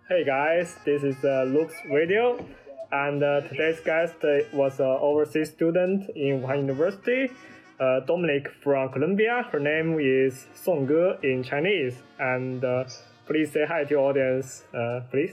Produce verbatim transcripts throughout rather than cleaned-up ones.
Hey guys, this is uh, Luke's Radio, and uh, today's guest uh, was an overseas student in Wuhan University, uh, Dominic from Colombia. Her name is Song Ge in Chinese, and uh, please say hi to your audience, uh, please.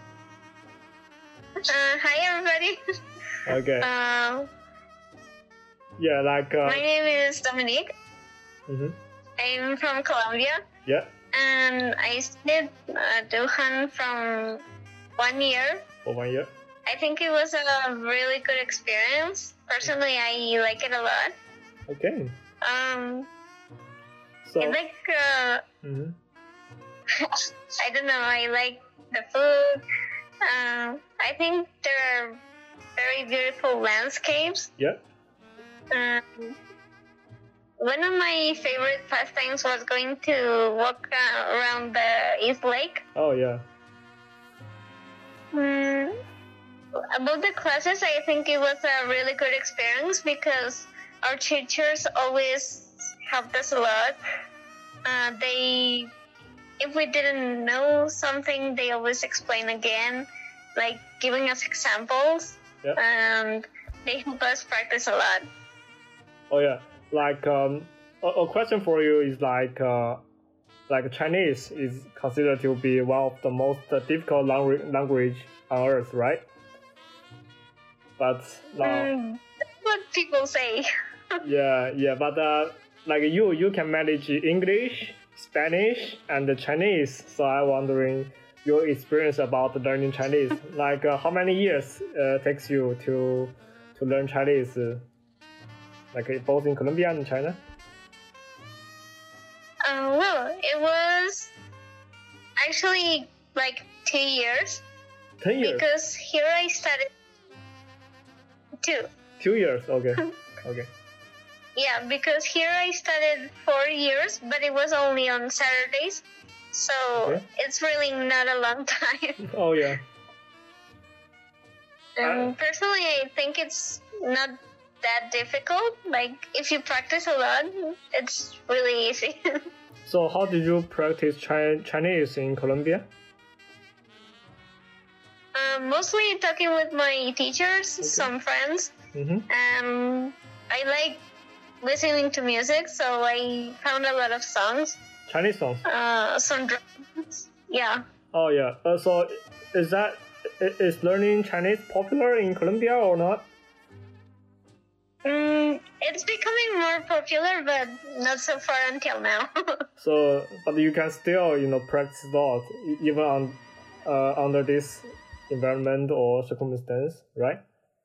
Uh, hi everybody. Okay. Uh, yeah, like. Uh, my name is Dominique. Mm-hmm. I'm from Colombia. Yeah. And I studied uh, Wuhan from one year. For one year. I think it was a really good experience. Personally, I like it a lot. Okay. Um. So. I like. Uh, mm-hmm. I don't know. I like the food. Um. I think there are very beautiful landscapes. Yeah. Um. One of my favorite pastimes was going to walk uh, around the East Lake. Oh, yeah. Mm, about the classes, I think it was a really good experience because our teachers always helped us a lot. Uh, they, if we didn't know something, they always explain again, like giving us examples. Yeah. And they help us practice a lot. Oh, yeah. Like um, a, a question for you is like uh, like Chinese is considered to be one of the most uh, difficult language language on earth, right? But now, mm, that's what people say. yeah, yeah. But uh, like you, you can manage English, Spanish, and Chinese. So I'm wondering your experience about learning Chinese. like uh, how many years uh, takes you to to learn Chinese? Uh, Like both in Colombia and China? Uh, well, it was actually like two years. Ten years? Because here I studied two. Two years, okay. okay. Yeah, because here I studied four years, but it was only on Saturdays. So okay. It's really not a long time. Oh, yeah. Um, uh, personally, I think it's not that difficult. Like if you practice a lot, it's really easy. So how did you practice Chi- Chinese in Colombia? Um, mostly talking with my teachers, okay. Some friends. Mm-hmm. Um, I like listening to music, so I found a lot of songs. Chinese songs? Uh, some drums. Yeah. Oh yeah. Uh, so is that is learning Chinese popular in Colombia or not? Mm, it's becoming more popular, but not so far until now. So, but you can still, you know, practice a lot, even on, uh, under this environment or circumstance, right?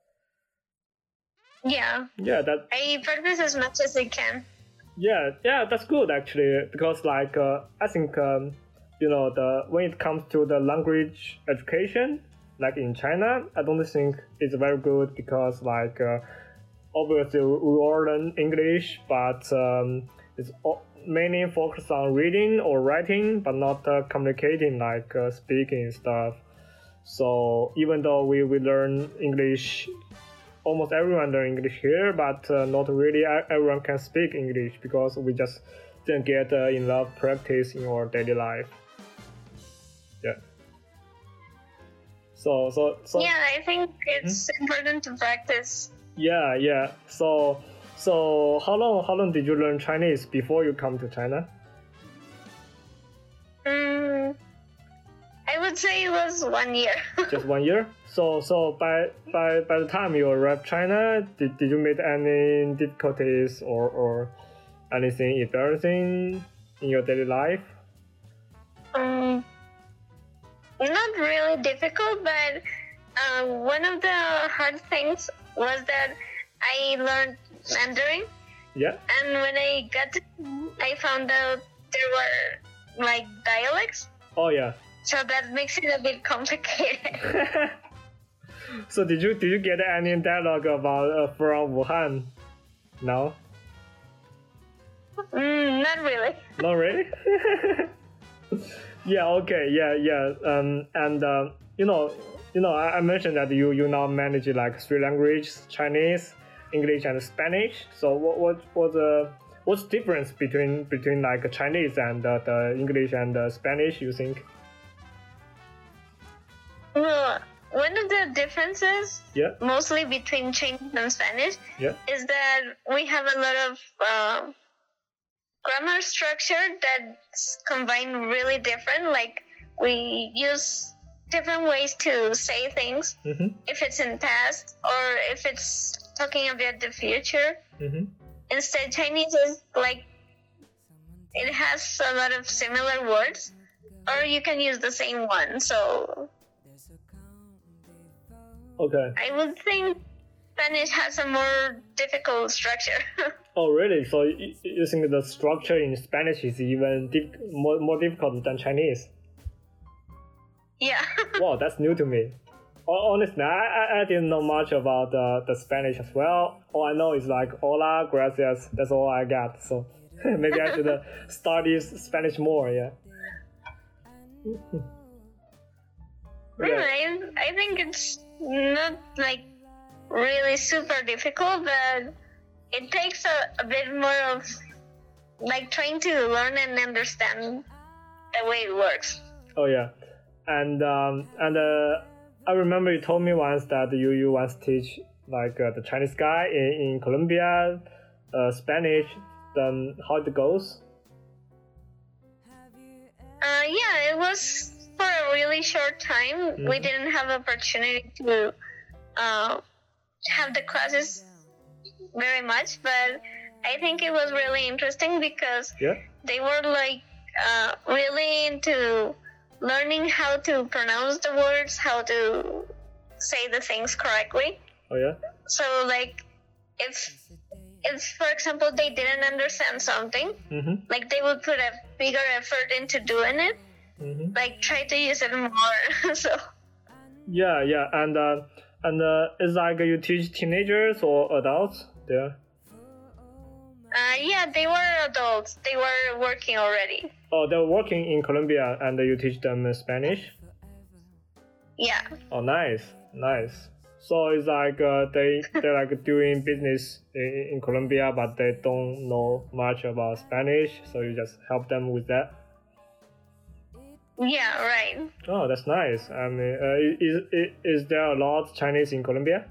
Yeah. Yeah, that. I practice as much as I can. Yeah, yeah, that's good actually, because like uh, I think um, you know the when it comes to the language education, like in China, I don't think it's very good because like. Uh, Obviously, we all learn English, but um, it's mainly focused on reading or writing, but not uh, communicating like uh, speaking stuff. So even though we, we learn English, almost everyone learn English here, but uh, not really everyone can speak English because we just didn't get uh, enough practice in our daily life. Yeah. So so so. Yeah, I think it's hmm? important to practice. Yeah, yeah. So, so how long how long did you learn Chinese before you come to China? Mm, I would say it was one year. Just one year. So, so by by by the time you arrived China, did, did you meet any difficulties or or anything embarrassing in your daily life? Um, not really difficult, but uh, one of the hard things was that I learned Mandarin. Yeah. And when I got to, I found out there were like dialects. Oh yeah. So that makes it a bit complicated. So did you did you get any dialogue about uh, from Wuhan? No. Mm, not really. Not really. Yeah. Okay. Yeah. Yeah. Um. And uh, you know. You know, I, I mentioned that you, you now manage like three languages: Chinese, English, and Spanish. So what what what's the what's the difference between between like Chinese and uh, the English and uh, Spanish? You think? the differences, Yeah. mostly between Chinese and Spanish, Yeah. is that we have a lot of uh, grammar structure that's combined really different. Like we use different ways to say things, Mm-hmm. if it's in past or if it's talking about the future. Mm-hmm. Instead, Chinese is like, it has a lot of similar words, or you can use the same one. So Okay. I would think Spanish has a more difficult structure. Oh, really? So you, you think the structure in Spanish is even diff- more, more difficult than Chinese? Yeah. Wow, that's new to me. Hon- Honestly, I, I, I didn't know much about uh, the Spanish as well. All I know is like hola, gracias. That's all I got. So maybe I should uh, study Spanish more. Yeah. Yeah, I, I think it's not like really super difficult, but it takes a, a bit more of like trying to learn and understand the way it works. Oh yeah, and um, and uh, I remember you told me once that you you once teach like uh, the Chinese guy in, in Colombia, uh, Spanish. Then how it goes? Uh, yeah, it was for a really short time. Mm-hmm. We didn't have opportunity to uh, have the classes very much, but I think it was really interesting because Yeah. they were like uh, really into learning how to pronounce the words, how to say the things correctly. Oh yeah. So like if if for example they didn't understand something, Mm-hmm. like they would put a bigger effort into doing it, Mm-hmm. like try to use it more. So Yeah, yeah, and uh, and uh, it's like you teach teenagers or adults there. uh, yeah, they were adults. They were working already. Oh, they're working in Colombia, and you teach them Spanish. Yeah. Oh, nice, nice. So it's like uh, they they're like doing business in, in Colombia, but they don't know much about Spanish. So you just help them with that. Yeah, right. Oh, that's nice. I mean, uh, is, is is there a lot of Chinese in Colombia?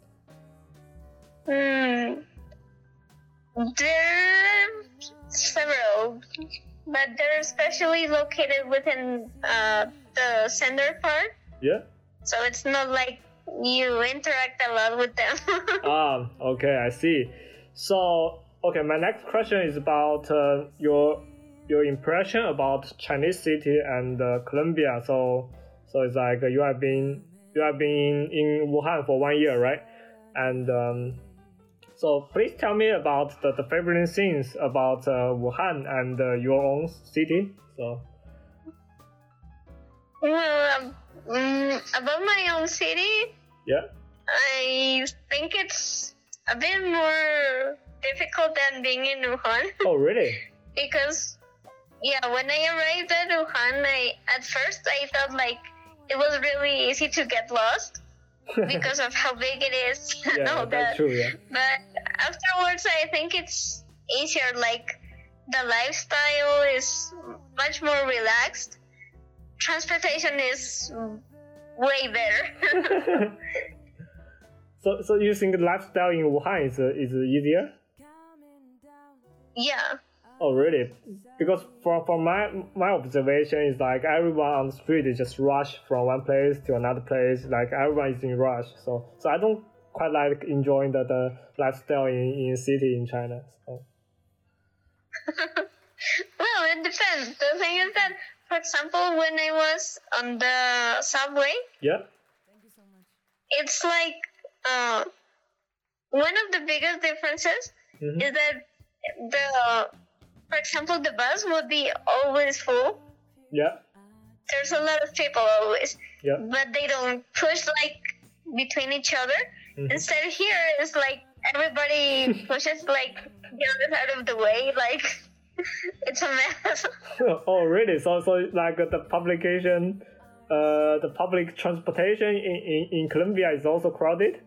Hmm. There are several, but they're especially located within uh, the center part, Yeah. so it's not like you interact a lot with them. Ah, okay, I see. So, okay, my next question is about uh, your your impression about Chinese city and uh, Colombia. So, so it's like you have been you have been in Wuhan for one year, right? And um, so, please tell me about the, the favorite things about uh, Wuhan and uh, your own city. So, Well, um, mm, about my own city, yeah. I think it's a bit more difficult than being in Wuhan. Oh, really? Because, yeah, when I arrived at Wuhan, I, at first I thought like it was really easy to get lost because of how big it is and Yeah, all that's that. true. Yeah. But afterwards, I think it's easier. Like the lifestyle is much more relaxed. Transportation is way better. so, so you think lifestyle in Wuhan is uh, is easier? Yeah. Oh, really? Because from from my my observation is like everyone on the street is just rush from one place to another place. Like everyone is in rush. So so I don't quite like enjoying the, the lifestyle in, in city in China. So. Well, it depends. The thing is that, for example, when I was on the subway, Yeah. it's like uh, one of the biggest differences Mm-hmm. is that the, for example, the bus would be always full. Yeah. There's a lot of people always, Yeah. but they don't push like between each other. Mhm. Instead, here it's like everybody pushes like the other side of the way. Like it's a mess. Oh, really? So so like the publication, uh, the public transportation in, in, in Colombia is also crowded.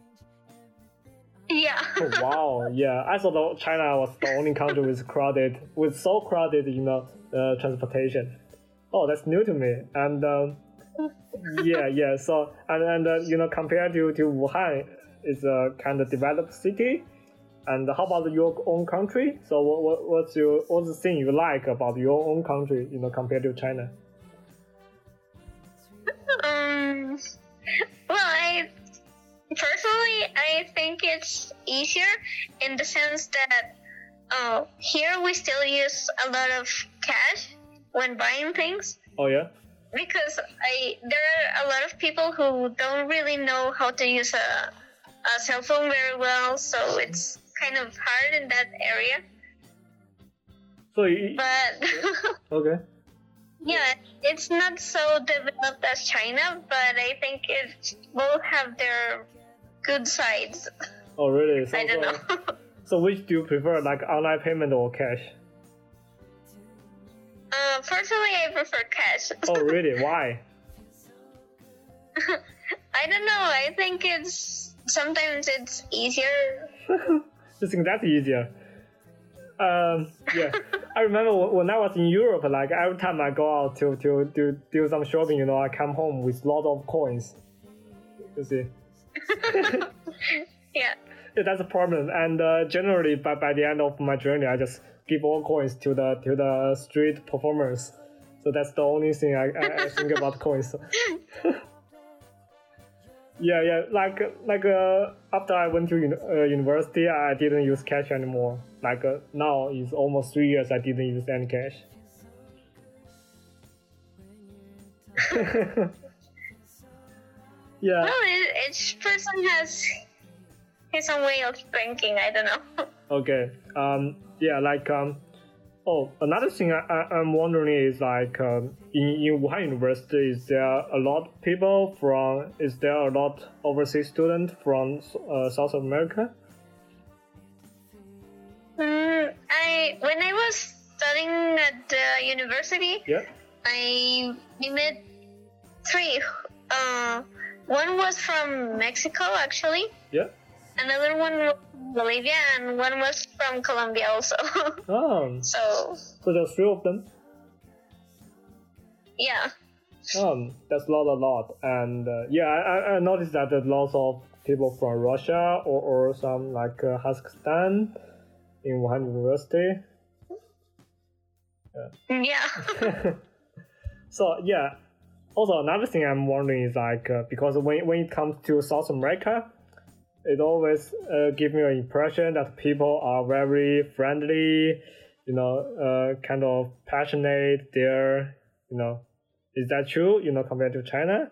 Yeah. Oh, wow, yeah. I thought that China was the only country with crowded, with so crowded, you know, uh, transportation. Oh, that's new to me. And um, yeah, yeah. So and and uh, you know, compared to to Wuhan, it's a kind of developed city. And how about your own country? So what, what what's your what's the thing you like about your own country? You know, compared to China. Um. Well, I personally I think it's easier in the sense that uh, here we still use a lot of cash when buying things. Oh yeah. Because I there are a lot of people who don't really know how to use a a cell phone very well, so it's kind of hard in that area. So you, but okay. Yeah, it's not so developed as China, but I think it both have their good sides. Oh really? So, I don't so, know. So which do you prefer, like online payment or cash? Uh, personally, I prefer cash. Oh really? Why? I don't know. I think it's sometimes it's easier. I think that's easier. Um, yeah, I remember when I was in Europe, like every time I go out to to do do some shopping, you know, I come home with a lot of coins. You see? Yeah. Yeah, that's a problem. And uh, generally, by by the end of my journey, I just give all coins to the to the street performers. So that's the only thing I, I, I think about coins. Yeah, yeah. Like, like uh, after I went to uni- uh, university, I didn't use cash anymore. Like uh, now, it's almost three years I didn't use any cash. Yeah. Well, it, each person has his own way of thinking. I don't know. Okay. Um. Yeah. Like um. Oh, another thing I, I I'm wondering is like um, in in Wuhan University, is there a lot of people from? Is there a lot overseas students from uh, South America? Mm, I when I was studying at the university, Yeah. I we met three. Uh, one was from Mexico, actually. Yeah. Another one was from Bolivia, and one was from Colombia also. Oh. So So there's three of them. yeah. Um, that's not a lot, and uh, yeah, I, I noticed that there's lots of people from Russia or, or some like uh, Kazakhstan in Wuhan University. Yeah. So yeah, also another thing I'm wondering is like uh, because when when it comes to South America, it always uh, gives me an impression that people are very friendly, you know, uh, kind of passionate. They're, you know, is that true? You know, compared to China?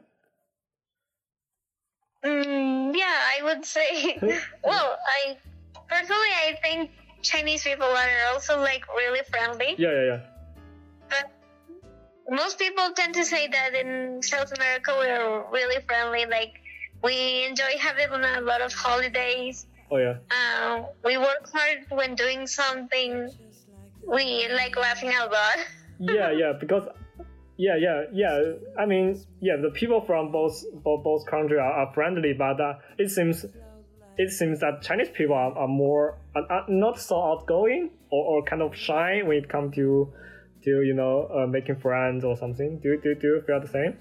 Mm, yeah, I would say. Well, I personally I think Chinese people are also like really friendly. Yeah, yeah, yeah. But most people tend to say that in South America we're really friendly. Like we enjoy having a lot of holidays. Oh yeah. Uh, we work hard when doing something. We like laughing a lot. Yeah, yeah, because yeah, yeah, yeah. I mean, yeah, the people from both both, both countries are, are friendly, but uh, it seems it seems that Chinese people are, are more are, are not so outgoing or, or kind of shy when it comes to to you know uh, making friends or something. Do do do you feel the same?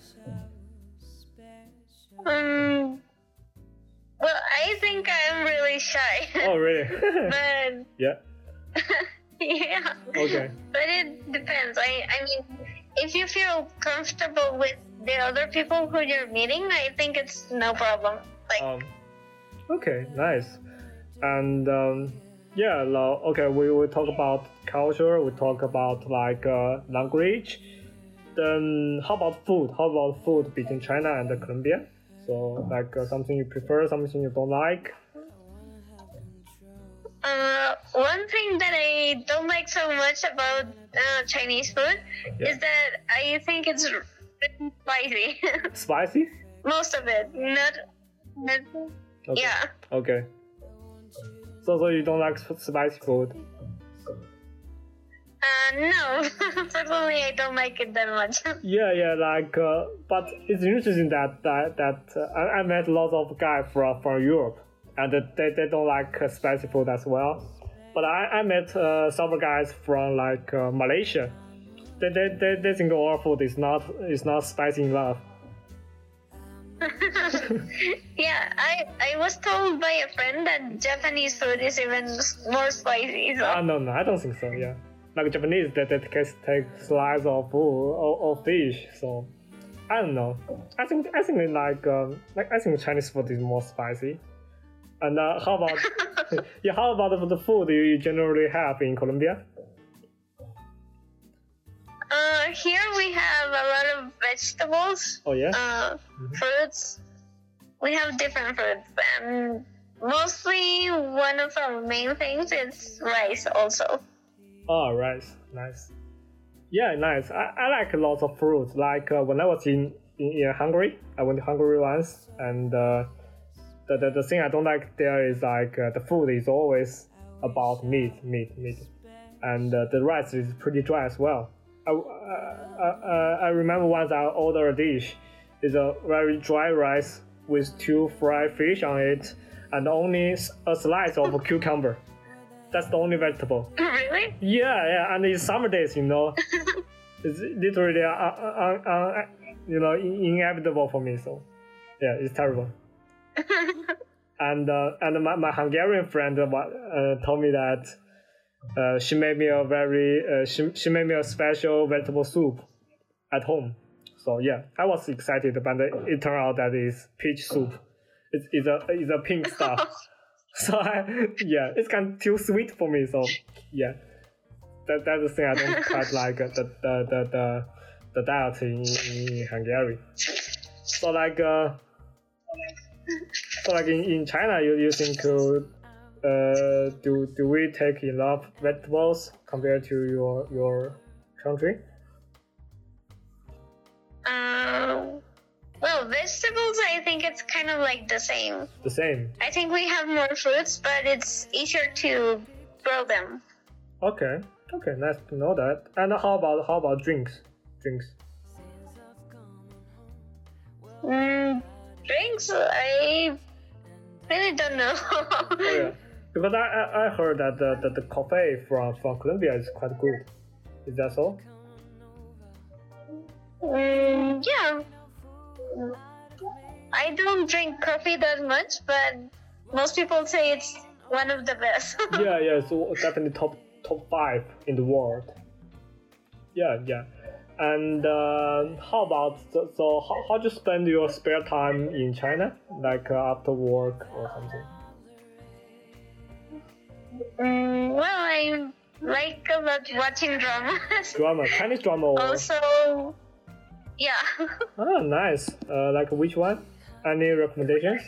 Um. Well, I think I'm really shy. Oh really? But Yeah. yeah. Okay. But it depends. I I mean, if you feel comfortable with the other people who you're meeting, I think it's no problem. Like, Um. Okay. Nice. And um, yeah. Now, okay. We will talk about culture. We talk about like uh, language. Then how about food? How about food between China and Colombia? So like uh, something you prefer, something you don't like. uh, one thing that I don't like so much about uh, Chinese food Yeah. is that I think it's really spicy. Spicy? Most of it, not, not Okay. yeah. Okay. So so you don't like sp- spicy food? Uh, no, personally, I don't like it that much. Yeah, yeah. Like, uh, but it's interesting that that that uh, I, I met lots of guys from from Europe, and they they don't like uh, spicy food as well. But I I met uh, several guys from like uh, Malaysia. They, they they they think our food is not is not spicy enough. Yeah, I I was told by a friend that Japanese food is even more spicy. So. Ah, no, no, I don't think so. Yeah, like Japanese, that that can take slice of food or, or fish. So I don't know. I think I think like um, like I think Chinese food is more spicy. And uh, how about yeah? How about the food you generally have in Colombia? Uh, here we have a lot of vegetables. Oh yeah. Uh, mm-hmm. Fruits. We have different fruits, and mostly one of our main things is rice. Also. Oh, rice, nice. Yeah, nice. I, I like lots of fruits. Like uh, when I was in, in in Hungary, I went to Hungary once, and uh, the, the the thing I don't like there is like uh, the food is always about meat, meat, meat, and uh, the rice is pretty dry as well. I, I, I remember once I ordered a dish. It's a very dry rice with two fried fish on it and only a slice of a cucumber. That's the only vegetable. Really? Yeah, yeah. And it's summer days, you know. It's literally, uh, uh, uh, uh, you know, inevitable for me. So, yeah, it's terrible. and uh, and my, my Hungarian friend uh, told me that. Uh, she made me a very uh, she, she made me a special vegetable soup at home. So yeah, I was excited, but it turned out that it's peach soup. It's, it's a it's a pink stuff. So I, yeah, it's kind of too sweet for me. So yeah, that that's the thing I don't quite like uh, the the the the, the diet in, in Hungary. So like uh, so like in, in China, you you think. Uh, Uh, do do we take enough vegetables compared to your your country? Um, well, vegetables, I think it's kind of like the same. The same. I think we have more fruits, but it's easier to grow them. Okay, okay, nice to know that. And how about how about drinks? Drinks. Mm, drinks, I really don't know. Oh, yeah. Because I, I, I heard that the, the, the coffee from, from Colombia is quite good. Is that so? Mm, yeah. I don't drink coffee that much, but most people say it's one of the best. yeah, yeah, so definitely top top five in the world. Yeah, yeah. And uh, how about, so, so how, how do you spend your spare time in China? Like uh, after work or something? Mm, well, I like a lot watching dramas. Drama, Chinese drama. Or... Also, yeah. Oh, nice. Uh, like which one? Any recommendations?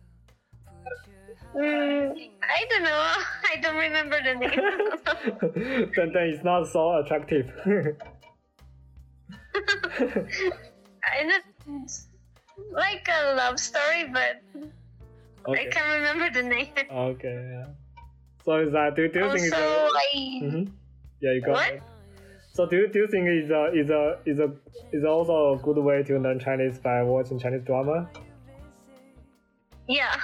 Mm, I don't know. I don't remember the name. then, then it's not so attractive. I don't like a love story, but okay. I can't remember the name. Okay, yeah. So is that do, do you also, think it's a, I... mm-hmm. Yeah, you go what? ahead. So do you do you think is a is a is a is also a good way to learn Chinese by watching Chinese drama? Yeah.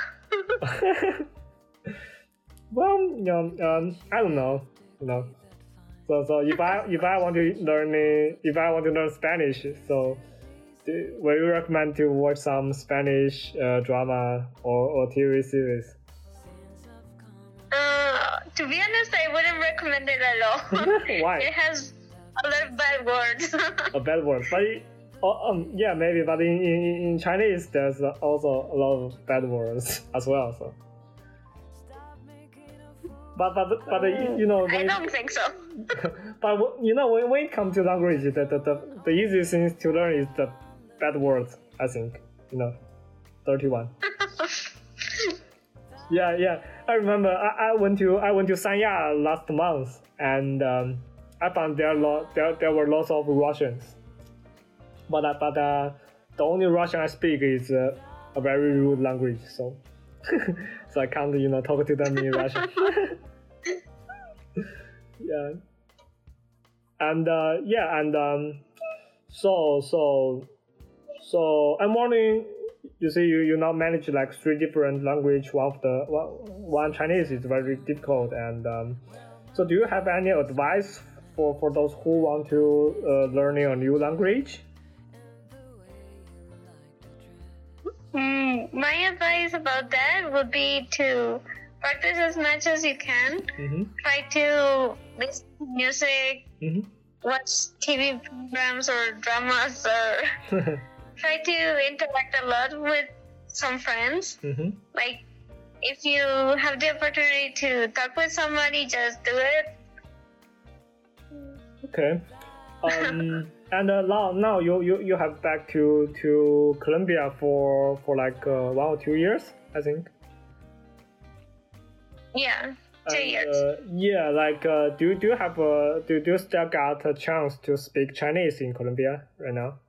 Well, you know, um, I don't know, you know. So so if I if I want to learn if I want to learn Spanish, so do, will you recommend to watch some Spanish uh, drama or, or T V series? Uh, to be honest, I wouldn't recommend it at all. Why? It has a lot of bad words. A bad word, but it, oh, um, yeah, maybe. But in, in in Chinese, there's also a lot of bad words as well. So, but but but mm, you know, I don't think so. But you know, when, when it comes to language, the, the the the easiest thing to learn is the bad words. I think, you know, dirty one. Yeah, yeah. I remember I, I went to I went to Sanya last month, and um, I found there lot there there were lots of Russians, but uh, but uh, the only Russian I speak is uh, a very rude language, so so I can't you know talk to them in Russian. Yeah, and uh, yeah, and um, so so so I'm wondering. You see, you, you now manage like three different language. One of the one, one Chinese is very difficult, and um, so do you have any advice for, for those who want to uh, learning a new language? my advice about that would be to practice as much as you can. Mm-hmm. Try to listen to music, Mm-hmm. watch T V programs or dramas, or try to interact a lot with some friends. Mm-hmm. Like, if you have the opportunity to talk with somebody, just do it. Okay. Um, and uh, now, now you, you, you have back to, to Colombia for for like uh, one or two years, I think. Yeah, two And, years. Uh, yeah, like uh, do do you have a do, do you still got a chance to speak Chinese in Colombia right now?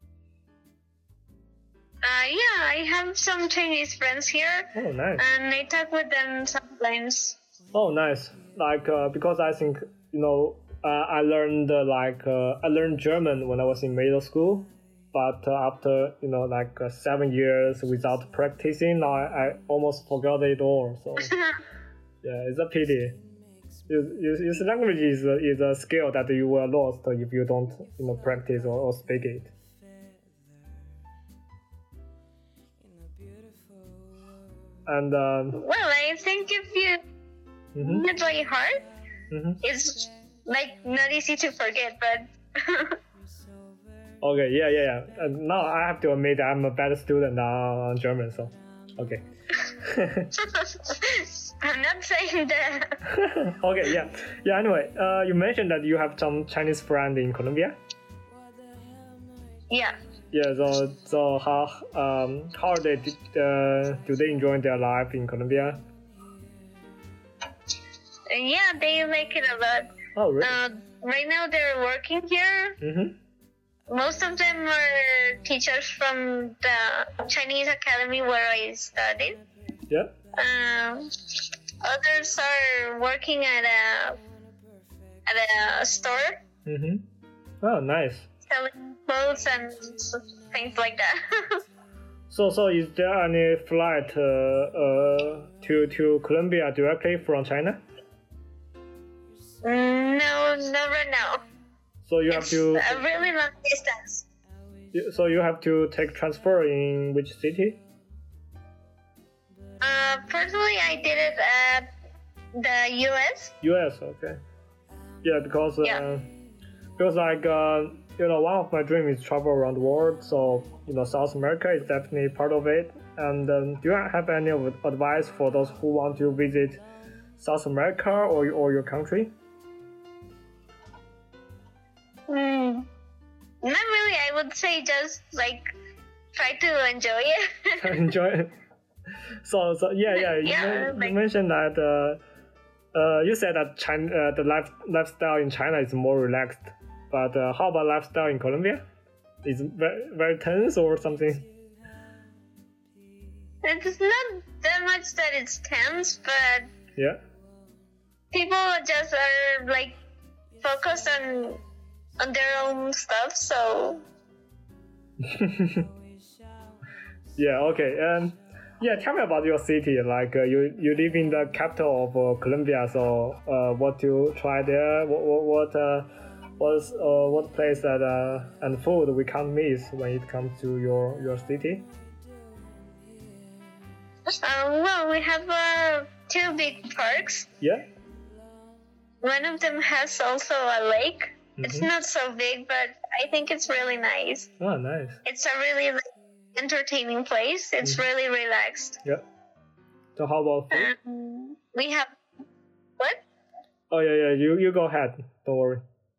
Uh, yeah, I have some Chinese friends here, Oh, nice. and I talk with them sometimes. Oh, nice. Like uh, because I think you know uh, I learned uh, like uh, I learned German when I was in middle school, but uh, after you know like uh, seven years without practicing, I, I almost forgot it all. So yeah, it's a pity. This language is a, is a skill that you will lost if you don't you know practice or, or speak it. And um, Well, I think if you mhm, try hard, mhm. it's like not easy to forget, but Okay, yeah, yeah, yeah. And now I have to admit I'm a better student on German, so okay. I'm not saying that. Okay, yeah, yeah. Anyway, uh, you mentioned that you have some Chinese friend in Colombia. Yeah. Yeah. So, so how um how they did, uh, do they enjoy their life in Colombia? And yeah, they like it a lot. Oh, really? Uh, right now they're working here. Mhm. Most of them are teachers from the Chinese academy where I studied. Yeah. Um, others are working at a at a store Mhm. Oh, nice. selling clothes and things like that. So, so is there any flight uh, uh to to Colombia directly from China? No, not right now. So you have It's to. a really long distance. So you have to take transfer in which city? Uh, personally, I did it at the U S. U S. Okay. Yeah, because uh, Yeah. because like uh, you know one of my dreams is travel around the world. So you know South America is definitely part of it. And um, do you have any of advice for those who want to visit South America or or your country? Hmm. Not really. I would say just like try to enjoy it. Enjoy it. So so yeah yeah you, Yeah, men- like- you mentioned that uh, uh, you said that China uh, the life lifestyle in China is more relaxed, but uh, how about lifestyle in Colombia? Is it very, very tense or something? It's not that much that it's tense, but Yeah. people just are like focused on on their own stuff. So Yeah. Okay. And yeah, tell me about your city. Like uh, you you live in the capital of uh, Colombia. So uh, what you try there? What what what uh, what's uh, what place that uh, and food we can't miss when it comes to your your city? um, well, we have uh, two big parks. Yeah. One of them has also a lake. It's Mhm. not so big, but I think it's really nice. Oh, nice. It's a really like, entertaining place. It's Mhm. really relaxed. Yeah. So how about food? Um, we have what? Oh yeah, yeah. You you go ahead. Don't worry.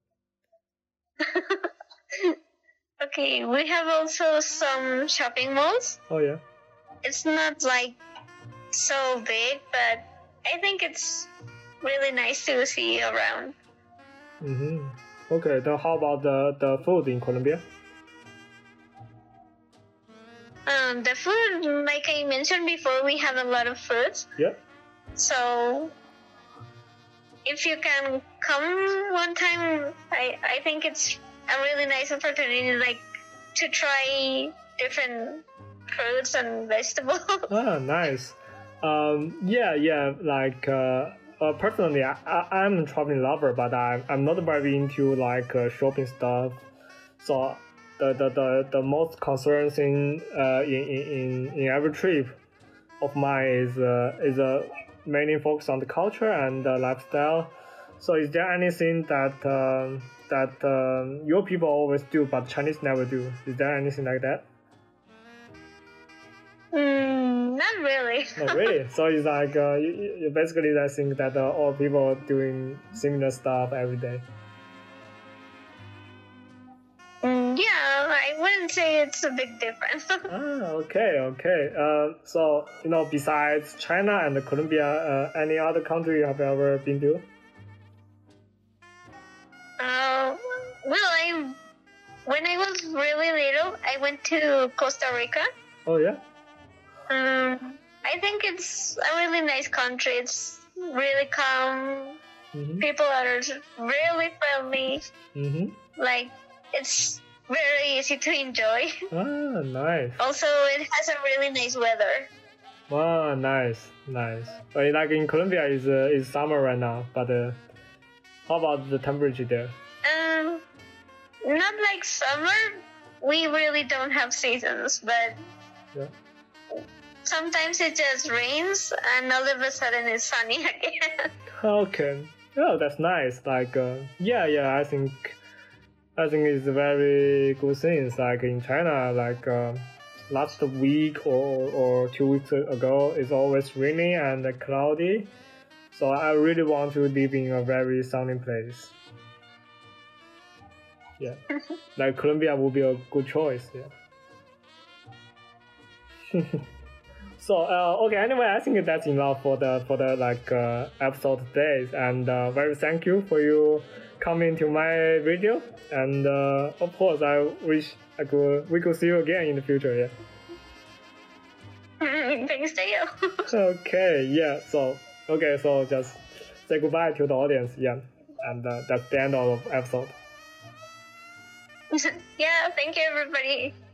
Okay, we have also some shopping malls. Oh yeah. It's not like so big, but I think it's really nice to see around. Mm-hmm. Okay. Then how about the the food in Colombia? Um, the food, like I mentioned before, we have a lot of fruits. Yeah. So if you can come one time, I, I think it's a really nice opportunity, like to try different fruits and vegetables. Ah, nice. Um, yeah, yeah. Like, uh, uh, personally, I, I, I'm a traveling lover, but I, I'm not very into like uh, shopping stuff. So the the, the, the most concerning thing uh, in, in in every trip of mine is uh, is uh, mainly focused on the culture and the lifestyle. So is there anything that um, that um, your people always do but Chinese never do? Is there anything like that? Mm, not really. Not really. So it's like uh, you, you basically I think that uh, all people doing similar stuff every day. Mm, yeah, I wouldn't say it's a big difference. Ah, okay, okay. Uh, so you know, besides China and Colombia, uh, any other country you have ever been to? Uh, well, I when I was really little, I went to Costa Rica. Oh yeah. Um, I think it's a really nice country. It's really calm. Mm-hmm. People are really friendly. Mm-hmm. Like, it's very easy to enjoy. Ah, nice. Also, it has a really nice weather. Wow, nice, nice. But like in Colombia, is uh, is summer right now. But uh, how about the temperature there? Um, not like summer. We really don't have seasons, but Yeah. sometimes it just rains and all of a sudden it's sunny again. Okay. Oh, that's nice. Like, uh, yeah, yeah. I think, I think it's a very good thing. It's like in China, like uh, last week or or two weeks ago, it's always raining and cloudy. So I really want to live in a very sunny place. Yeah, like Colombia would be a good choice. Yeah. So uh, okay. Anyway, I think that's enough for the for the like uh, episode today. And uh, very thank you for you coming to my video. And uh, of course, I wish I could we could see you again in the future. Yeah. Thanks to you. Okay. Yeah. So okay. So just say goodbye to the audience. Yeah. And uh, that's the end of the episode. Yeah, thank you, everybody.